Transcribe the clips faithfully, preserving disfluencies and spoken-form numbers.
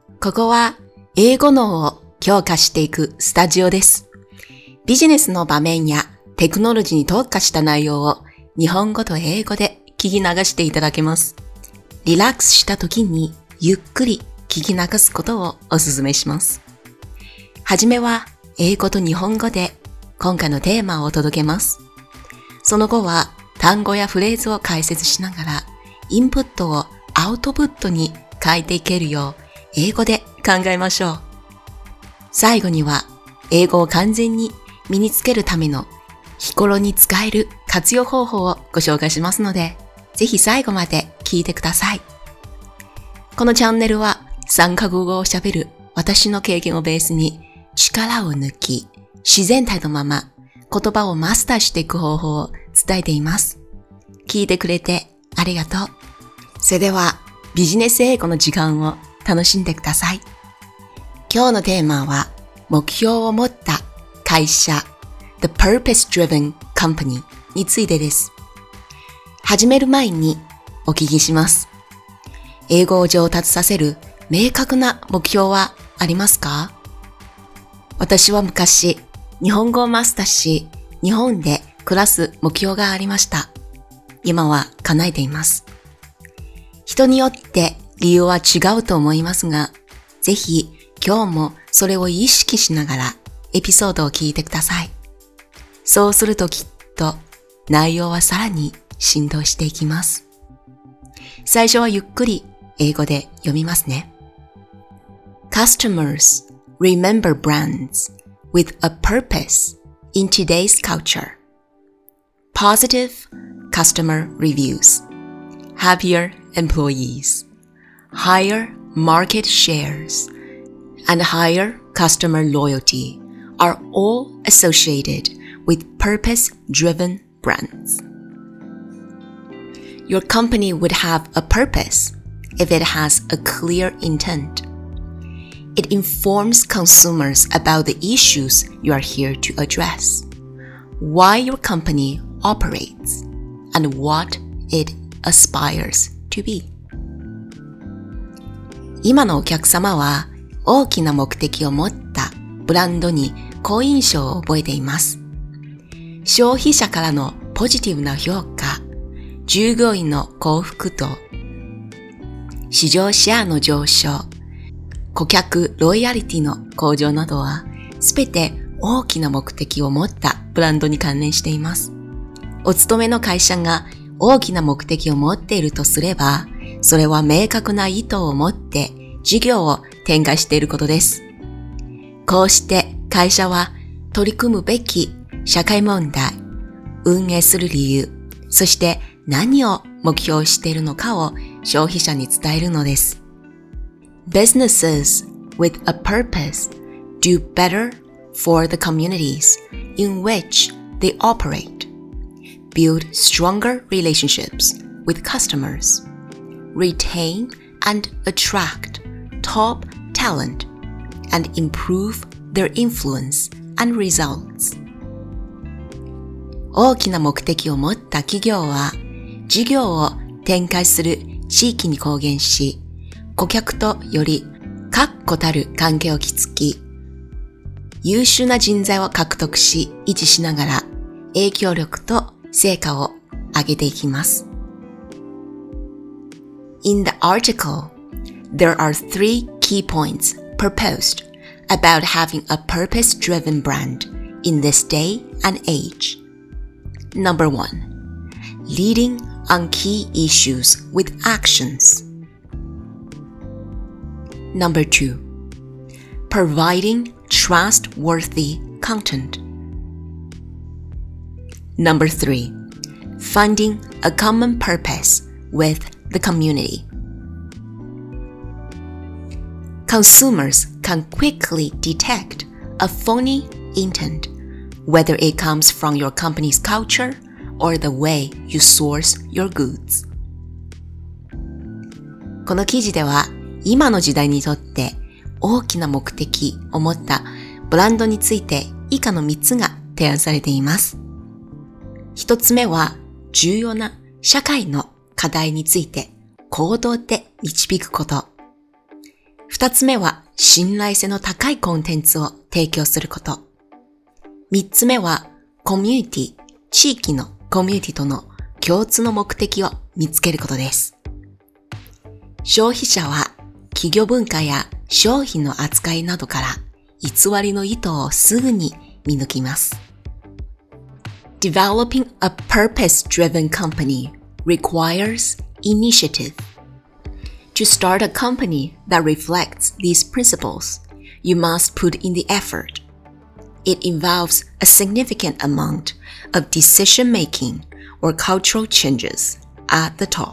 ここは英語脳を強化していくスタジオです。ビジネスの場面やテクノロジーに特化した内容を日本語と英語で聞き流していただけます。リラックスした時にゆっくり聞き流すことをお勧めします。はじめは英語と日本語で今回のテーマをお届けます。その後は単語やフレーズを解説しながらインプットをアウトプットに変えていけるよう英語で考えましょう。最後には英語を完全に身につけるための日頃に使える活用方法をご紹介しますので、ぜひ最後まで聞いてください。このチャンネルはさんカ国語を喋る私の経験をベースに力を抜き、自然体のまま言葉をマスターしていく方法を伝えています。聞いてくれてありがとう。それではビジネス英語の時間を楽しんでください。今日のテーマは目標を持った会社 The Purpose-Driven Company についてです。始める前にお聞きします。英語を上達させる明確な目標はありますか？私は昔日本語をマスターし、日本で暮らす目標がありました。今は叶えています。人によって理由は違うと思いますが、ぜひ今日もそれを意識しながらエピソードを聞いてください。そうするときっと内容はさらに浸透していきます。最初はゆっくり英語で読みますね。Customers remember brands with a purpose in today's culture. Positive customer reviews, happier employees, higher market shares, and higher customer loyalty are all associated with purpose-driven brands. Your company would have a purpose if it has a clear intent. It informs consumers about the issues you are here to address, why your company operates, and what it aspires to be. 今のお客様は大きな目的を持ったブランドに好印象を覚えています。消費者からのポジティブな評価、従業員の幸福度、市場シェアの上昇、顧客ロイヤリティの向上などはすべて大きな目的を持ったブランドに関連しています。お勤めの会社が大きな目的を持っているとすれば、それは明確な意図を持って事業を展開していることです。こうして会社は取り組むべき社会問題、運営する理由、そして何を目標しているのかを消費者に伝えるのです。Businesses with a purpose do better for the communities in which they operate, build stronger relationships with customers, retain and attract top talent, and improve their influence and results. 大きな目的を持った企業は事業を展開する地域に貢献し、顧客とより確固たる関係を築き、優秀な人材を獲得し維持しながら影響力と成果を上げていきます。In the article, there are three key points proposed about having a purpose-driven brand in this day and age. Number one, leading on key issues with actions. Number two, providing trustworthy content. Number three, finding a common purpose with the community. Consumers can quickly detect a phony intent, whether it comes from your company's culture or the way you source your goods. この記事では今の時代にとって大きな目的を持ったブランドについて以下のみっつが提案されています。ひとつめは重要な社会の課題について行動で導くこと。 二つ目は信頼性の高いコンテンツを提供すること。三つ目はコミュニティ、地域のコミュニティとの共通の目的を見つけることです。消費者は企業文化や商品の扱いなどから偽りの意図をすぐに見抜きます。Developing a purpose-driven company requires initiative. To start a company that reflects these principles, you must put in the effort. It involves a significant amount of decision-making or cultural changes at the top.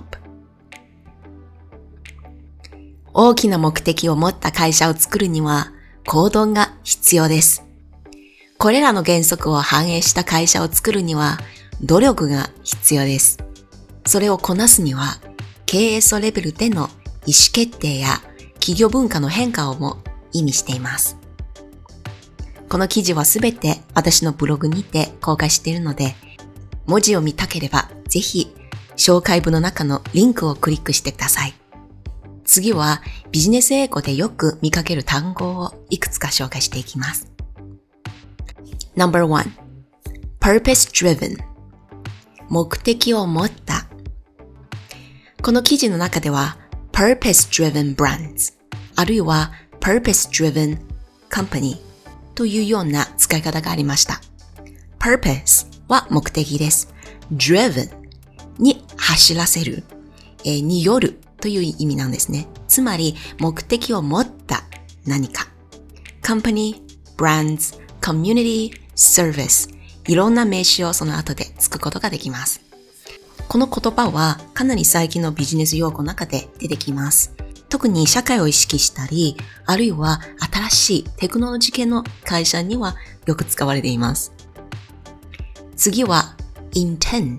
大きな目的を持った会社を作るには行動が必要です。これらの原則を反映した会社を作るには努力が必要です。それをこなすには経営層レベルでの意思決定や企業文化の変化をも意味しています。この記事はすべて私のブログにて公開しているので、文字を見たければぜひ紹介文の中のリンクをクリックしてください。次はビジネス英語でよく見かける単語をいくつか紹介していきます。ナンバーワン、purpose driven。目的を持った。この記事の中ではpurpose driven brands あるいは purpose driven company というような使い方がありました。purpose は目的です。driven に走らせる、えー、によるという意味なんですね。つまり目的を持った何か。company, brands, community, service いろんな名詞をその後でつくことができます。この言葉はかなり最近のビジネス用語の中で出てきます。特に社会を意識したり、あるいは新しいテクノロジー系の会社にはよく使われています。次は intent。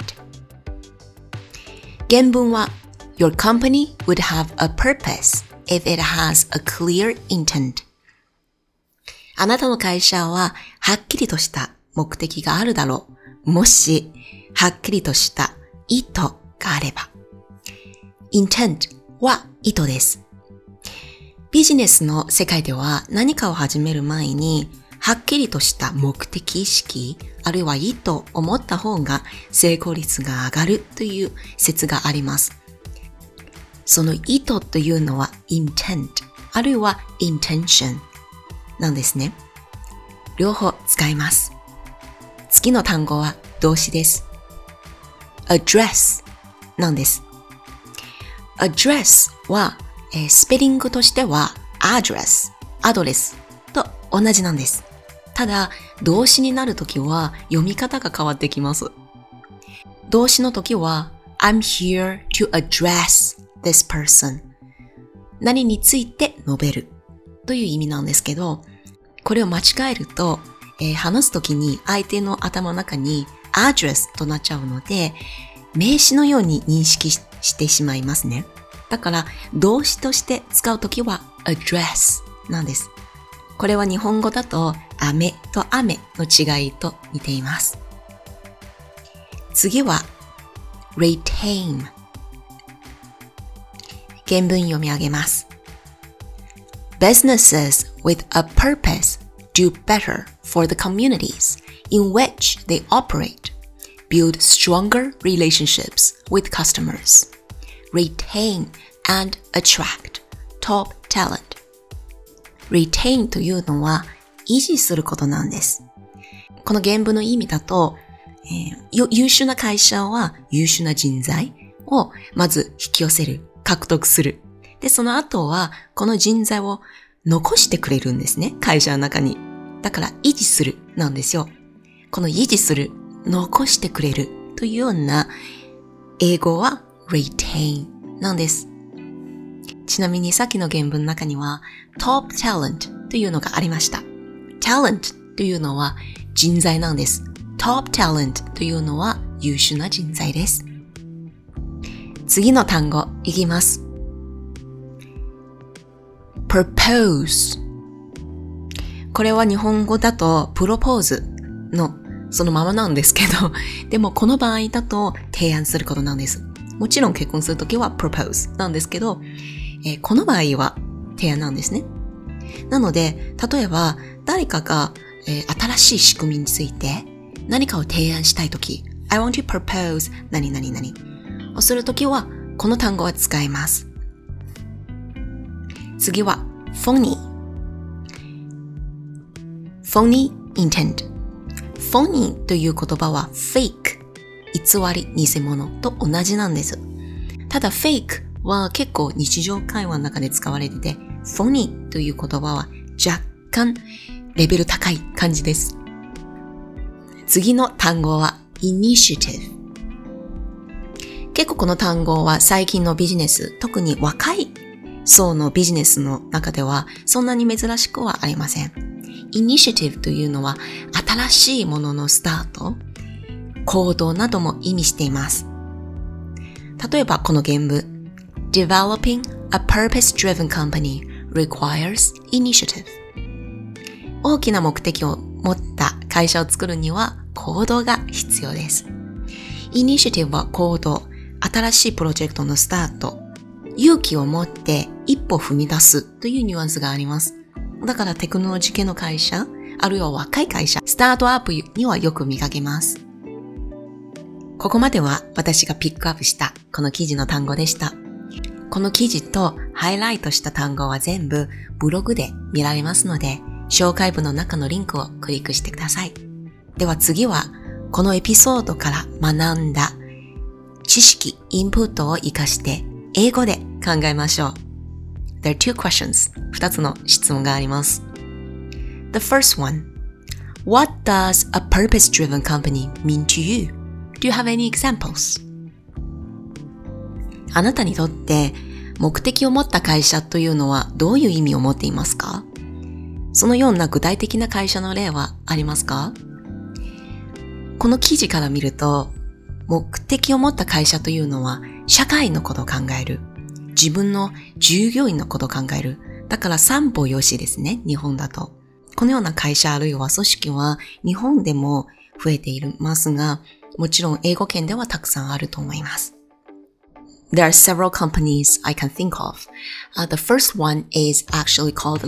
原文は Your company would have a purpose if it has a clear intent。あなたの会社ははっきりとした目的があるだろう。もしはっきりとした意図があれば。intent は意図です。ビジネスの世界では何かを始める前にはっきりとした目的意識あるいは意図を持った方が成功率が上がるという説があります。その意図というのは intent あるいは intention なんですね。両方使います。次の単語は動詞です。address なんです。address は、えー、スペリングとしては address、アドレスと同じなんです。ただ、動詞になるときは読み方が変わってきます。動詞のときは I'm here to address this person 何について述べるという意味なんですけど、これを間違えると、えー、話すときに相手の頭の中にアドレスとなっちゃうので、名詞のように認識 し, してしまいますね。だから、動詞として使うときは address なんです。これは日本語だと、飴と雨の違いと似ています。次は、retain。原文読み上げます。Businesses with a purpose do better for the communities in which they operate, build stronger relationships with customers, retain and attract top talent. retain というのは維持することなんです。この原文の意味だと、えー、優秀な会社は優秀な人材をまず引き寄せる、獲得する。で、その後はこの人材を残してくれるんですね、会社の中に。だから維持するなんですよ。この維持する、残してくれるというような英語は retain なんです。ちなみにさっきの原文の中には top talent というのがありました。talent というのは人材なんです。top talent というのは優秀な人材です。次の単語いきます。propose。これは日本語だとプロポーズのそのままなんですけど、でもこの場合だと提案することなんです。もちろん結婚するときは propose なんですけど、えー、この場合は提案なんですね。なので、例えば誰かが、えー、新しい仕組みについて何かを提案したいとき、I want to propose 何々々をするときはこの単語は使います。次は phony。phony intent。phony という言葉は fake、偽り、偽物と同じなんです。ただ fake は結構日常会話の中で使われてて、phony という言葉は若干レベル高い感じです。次の単語は initiative。結構この単語は最近のビジネス、特に若い層のビジネスの中ではそんなに珍しくはありません。initiative というのは新しいもののスタート、行動なども意味しています。例えばこの原文、Developing a purpose-driven company requires initiative。大きな目的を持った会社を作るには行動が必要です。イニシアティブは行動、新しいプロジェクトのスタート、勇気を持って一歩踏み出すというニュアンスがあります。だからテクノロジー系の会社、あるいは若い会社、スタートアップにはよく見かけます。ここまでは私がピックアップしたこの記事の単語でした。この記事とハイライトした単語は全部ブログで見られますので、紹介文の中のリンクをクリックしてください。では次は、このエピソードから学んだ知識、インプットを活かして英語で考えましょう。There are two questions. 二つの質問があります。The first one. What does a purpose-driven company mean to you? Do you have any examples? あなたにとって目的を持った会社というのはどういう意味を持っていますか？そのような具体的な会社の例はありますか？この記事から見ると、目的を持った会社というのは社会のことを考える。自分の従業員のことを考える。だから三方よしですね、日本だと。このような会社あるいは組織は日本でも増えていますが、もちろん英語圏ではたくさんあると思います。There are several companies I can think of. Uh, the first one is actually called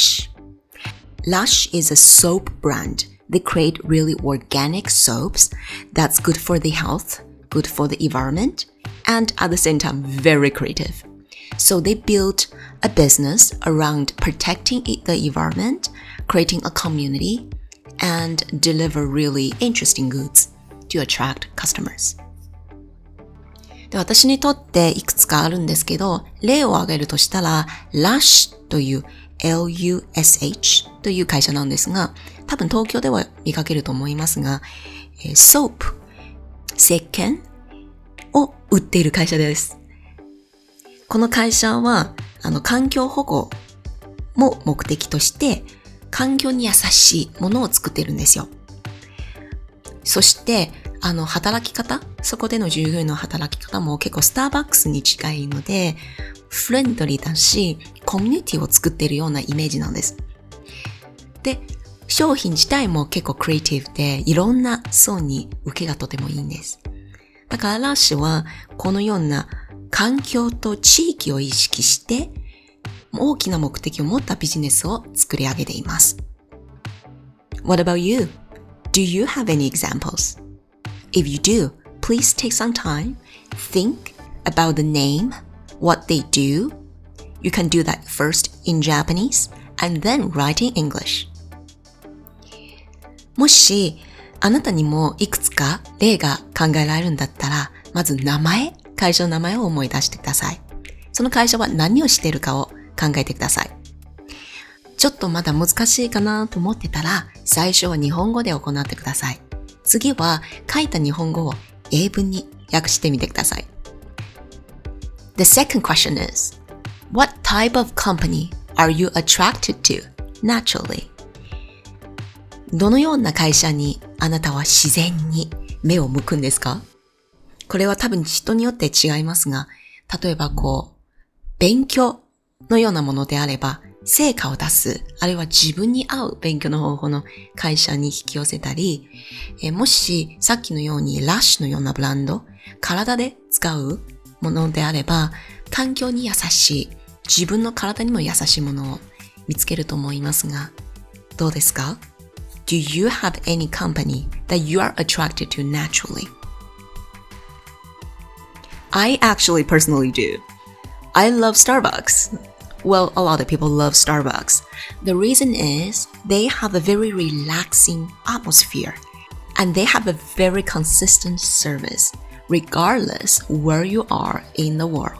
Lush.Lush is a soap brand. They create really organic soaps that's good for the health, good for the environment, and at the same time very creative. So they built a business around protecting the environment, creating a community, and deliver really interesting goods to attract customers. で、私にとっていくつかあるんですけど、例を挙げるとしたら Lush というエルユーエスエイチ という会社なんですが、多分東京では見かけると思いますが、ソープ、石鹸を売っている会社です。この会社は、あの、環境保護も目的として、環境に優しいものを作っているんですよ。そして、あの、働き方、そこでの従業員の働き方も結構スターバックスに近いので、フレンドリーだし、コミュニティを作っているようなイメージなんです。で、商品自体も結構クリエイティブで、いろんな層に受けがとてもいいんです。だからラッシュは、このような環境と地域を意識して、大きな目的を持ったビジネスを作り上げています。What about you? Do you have any examples? If you do, please take some time, think about the name,What they do, you can do that first in Japanese and then write in English. もし、あなたにもいくつか例が考えられるんだったら、まず名前、会社の名前を思い出してください。その会社は何をしているかを考えてください。ちょっとまだ難しいかなと思ってたら、最初は日本語で行ってください。次は書いた日本語を英文に訳してみてください。The second question is, what type of company are you attracted to naturally? どのような会社にあなたは自然に目を向くんですか？これは多分人によって違いますが、例えばこう、勉強のようなものであれば、成果を出す、あるいは自分に合う勉強の方法の会社に引き寄せたり、えもしさっきのようにラッシュのようなブランド、体で使うものであれば、環境に優しい、 自分の体にも優しいものを見つけると思いますが、どうですか？ Do you have any company that you are attracted to naturally? I actually personally do. I love Starbucks. Well, a lot of people love Starbucks. The reason is they have a very relaxing atmosphere and they have a very consistent service regardless where you are in the world.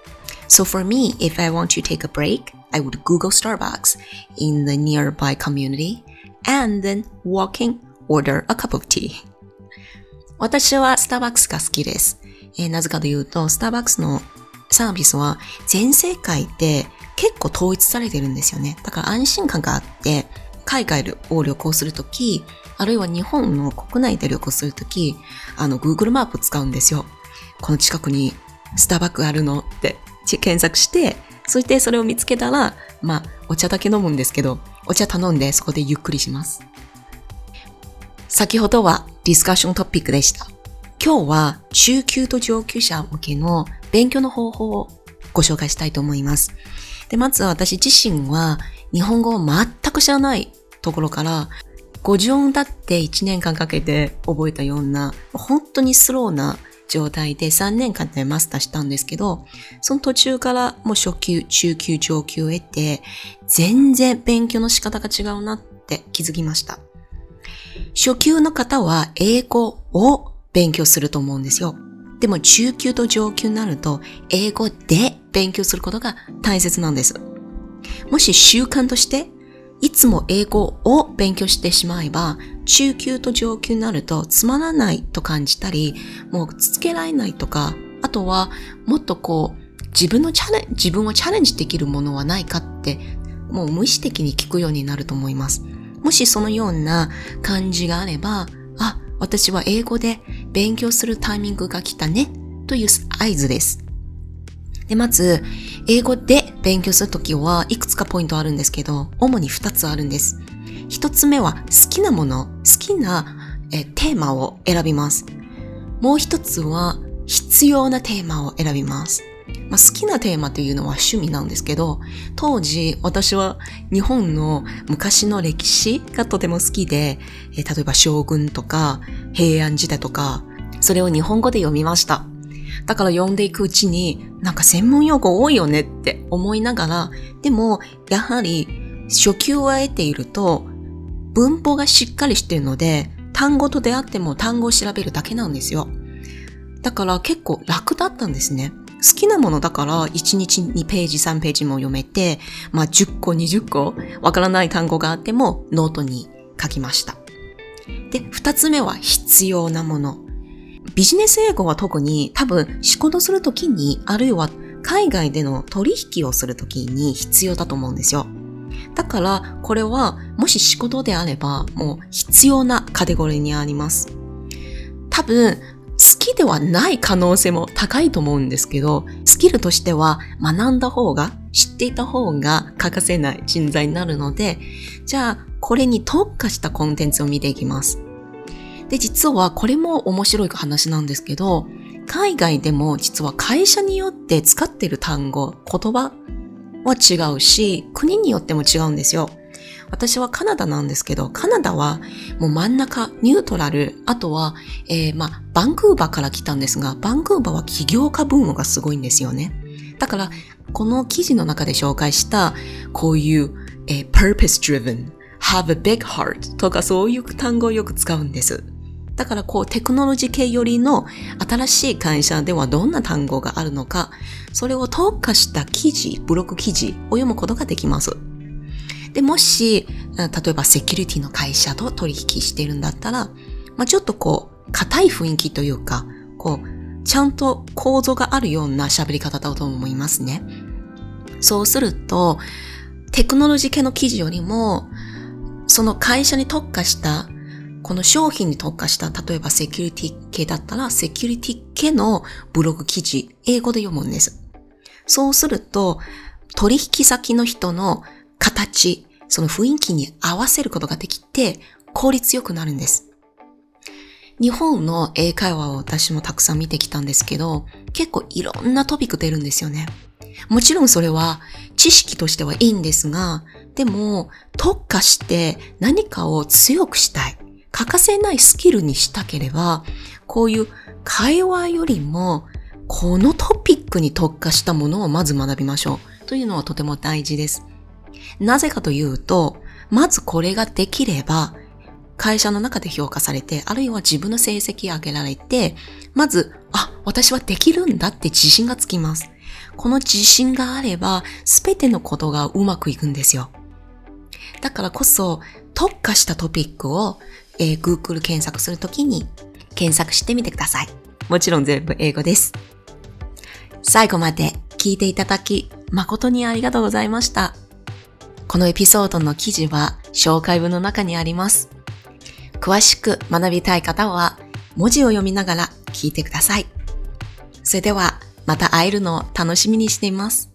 So for me, if I want to take a break, I would Google Starbucks in the nearby community and then walking order a cup of tea. 私はスターバックスが好きです。えー、なぜかというと、スターバックスのサービスは全世界で結構統一されてるんですよね。だから安心感があって、海外を旅行するとき、あるいは日本の国内で旅行するとき、あの Google マップ使うんですよ。この近くにスターバックスあるのって検索して、そしてそれを見つけたら、まあお茶だけ飲むんですけど、お茶頼んでそこでゆっくりします。先ほどはディスカッショントピックでした。今日は中級と上級者向けの勉強の方法をご紹介したいと思います。で、まず私自身は日本語を全く知らないところからごじゅうおんだっていちねんかんかけて覚えたような本当にスローな状態でさんねんかんでマスターしたんですけど、その途中からもう初級、中級、上級を得て全然勉強の仕方が違うなって気づきました。初級の方は英語を勉強すると思うんですよ。でも中級と上級になると英語で勉強することが大切なんです。もし習慣としていつも英語を勉強してしまえば中級と上級になるとつまらないと感じたり、もう続けられないとか、あとはもっとこう自分のチャレン自分をチャレンジできるものはないかってもう無意識的に聞くようになると思います。もしそのような感じがあれば、あ、私は英語で勉強するタイミングが来たねという合図です。で、まず、英語で勉強するときはいくつかポイントあるんですけど、主にふたつあるんです。ひとつめは好きなもの、好きなえテーマを選びます。もうひとつは必要なテーマを選びます。まあ、好きなテーマというのは趣味なんですけど、当時私は日本の昔の歴史がとても好きで、え例えば将軍とか平安時代とか、それを日本語で読みました。だから読んでいくうちになんか専門用語多いよねって思いながら、でもやはり初級を得ていると文法がしっかりしているので、単語と出会っても単語を調べるだけなんですよ。だから結構楽だったんですね。好きなものだからいちにちにページさんページも読めて、まあじゅっこにじゅっこわからない単語があってもノートに書きました。で、二つ目は必要なもの。ビジネス英語は特に多分仕事するときに、あるいは海外での取引をするときに必要だと思うんですよ。だからこれはもし仕事であればもう必要なカテゴリーにあります。多分好きではない可能性も高いと思うんですけど、スキルとしては学んだ方が、知っていた方が欠かせない人材になるので、じゃあこれに特化したコンテンツを見ていきます。で、実はこれも面白い話なんですけど、海外でも実は会社によって使っている単語、言葉は違うし、国によっても違うんですよ。私はカナダなんですけど、カナダはもう真ん中、ニュートラル、あとは、えー、まあ、バンクーバーから来たんですが、バンクーバーは起業家ブームがすごいんですよね。だから、この記事の中で紹介した、こういう、えー、purpose driven, have a big heart とかそういう単語をよく使うんです。だからこうテクノロジー系よりの新しい会社ではどんな単語があるのか、それを特化した記事、ブログ記事を読むことができます。で、もし、例えばセキュリティの会社と取引しているんだったら、まあ、ちょっとこう、硬い雰囲気というか、こう、ちゃんと構造があるような喋り方だと思いますね。そうすると、テクノロジー系の記事よりも、その会社に特化した、この商品に特化した、例えばセキュリティ系だったら、セキュリティ系のブログ記事、英語で読むんです。そうすると、取引先の人の形、その雰囲気に合わせることができて、効率よくなるんです。日本の英会話を私もたくさん見てきたんですけど、結構いろんなトピック出るんですよね。 もちろんそれは知識としてはいいんですが、でも特化して何かを強くしたい、欠かせないスキルにしたければ、こういう会話よりもこのトピックに特化したものをまず学びましょうというのはとても大事です。なぜかというと、まずこれができれば会社の中で評価されて、あるいは自分の成績を上げられて、まず、あ、私はできるんだって自信がつきます。この自信があれば、すべてのことがうまくいくんですよ。だからこそ、特化したトピックを、えー、Google 検索するときに検索してみてください。もちろん全部英語です。最後まで聞いていただき、誠にありがとうございました。このエピソードの記事は紹介文の中にあります。詳しく学びたい方は文字を読みながら聞いてください。それではまた会えるのを楽しみにしています。